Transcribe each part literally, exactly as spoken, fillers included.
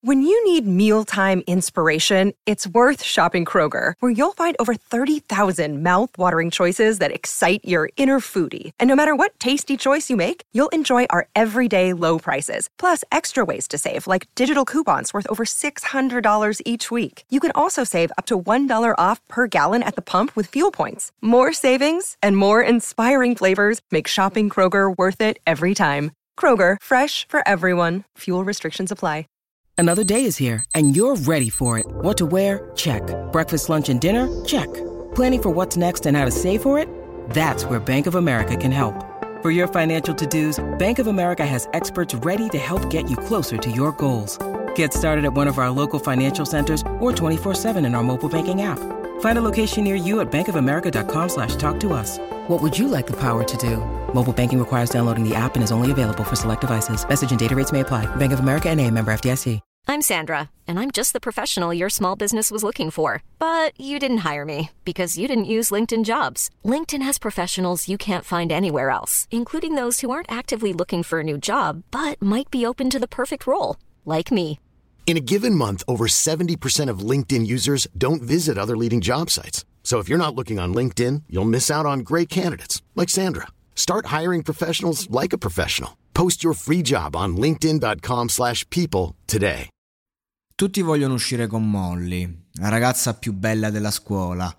When you need mealtime inspiration, it's worth shopping Kroger, where you'll find over thirty thousand mouth-watering choices that excite your inner foodie. And no matter what tasty choice you make, you'll enjoy our everyday low prices, plus extra ways to save, like digital coupons worth over six hundred dollars each week. You can also save up to one dollar off per gallon at the pump with fuel points. More savings and more inspiring flavors make shopping Kroger worth it every time. Kroger, fresh for everyone. Fuel restrictions apply. Another day is here, and you're ready for it. What to wear? Check. Breakfast, lunch, and dinner? Check. Planning for what's next and how to save for it? That's where Bank of America can help. For your financial to-dos, Bank of America has experts ready to help get you closer to your goals. Get started at one of our local financial centers or twenty-four seven in our mobile banking app. Find a location near you at bankofamerica.com slash talk to us. What would you like the power to do? Mobile banking requires downloading the app and is only available for select devices. Message and data rates may apply. Bank of America N A, member F D I C. I'm Sandra, and I'm just the professional your small business was looking for. But you didn't hire me because you didn't use LinkedIn Jobs. LinkedIn has professionals you can't find anywhere else, including those who aren't actively looking for a new job, but might be open to the perfect role, like me. In a given month, over seventy percent of LinkedIn users don't visit other leading job sites. So if you're not looking on LinkedIn, you'll miss out on great candidates like Sandra. Start hiring professionals like a professional. Post your free job on linkedin.com slash people today. Tutti vogliono uscire con Molly, la ragazza più bella della scuola.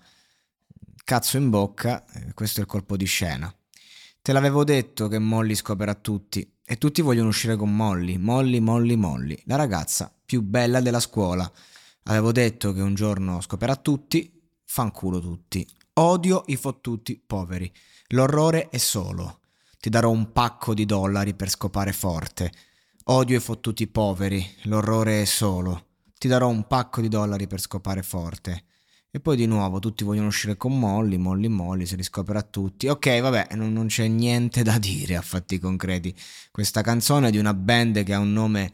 Cazzo in bocca, questo è il colpo di scena. Te l'avevo detto che Molly scoperà tutti. E tutti vogliono uscire con Molly, Molly, Molly, Molly, la ragazza più bella della scuola. Avevo detto che un giorno scoperà tutti, fanculo tutti. Odio i fottuti poveri. L'orrore è solo. Ti darò un pacco di dollari per scopare forte. Odio i fottuti poveri. L'orrore è solo. Ti darò un pacco di dollari per scopare forte. E poi di nuovo tutti vogliono uscire con Molly, Molly, Molly, se li scoprirà tutti. Ok, vabbè, non, non c'è niente da dire a fatti concreti. Questa canzone è di una band che ha un nome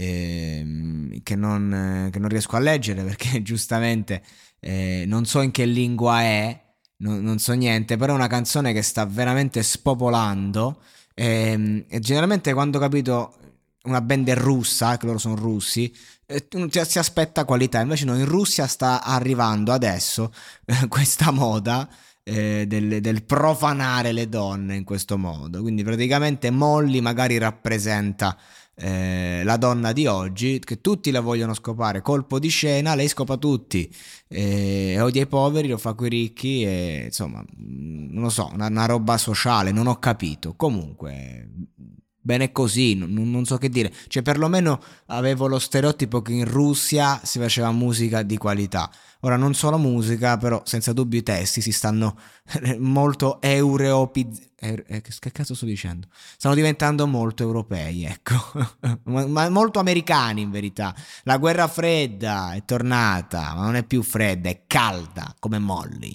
eh, che, non, che non riesco a leggere perché giustamente eh, non so in che lingua è, non, non so niente, però è una canzone che sta veramente spopolando e, e generalmente quando capito una band è russa, che loro sono russi, eh, si aspetta qualità, invece no, in Russia sta arrivando adesso eh, questa moda eh, del, del profanare le donne in questo modo, quindi praticamente Molly magari rappresenta eh, la donna di oggi, che tutti la vogliono scopare, colpo di scena, lei scopa tutti, eh, odia i poveri, lo fa coi ricchi e insomma, non lo so, una, una roba sociale, non ho capito, comunque... Bene così, non, non so che dire, cioè perlomeno avevo lo stereotipo che in Russia si faceva musica di qualità. Ora non solo musica, però senza dubbio i testi si stanno molto europiz... Eh, che cazzo sto dicendo? Stanno diventando molto europei, ecco, ma, ma molto americani in verità. La guerra fredda è tornata, ma non è più fredda, è calda come Molly.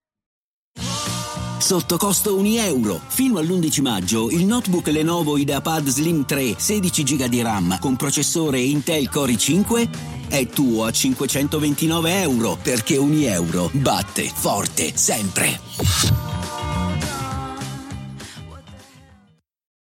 Sotto costo un euro. Fino all'undici maggio il notebook Lenovo IdeaPad Slim tre sedici giga di RAM con processore Intel Core i cinque è tuo a cinquecentoventinove euro, perché un euro batte forte sempre.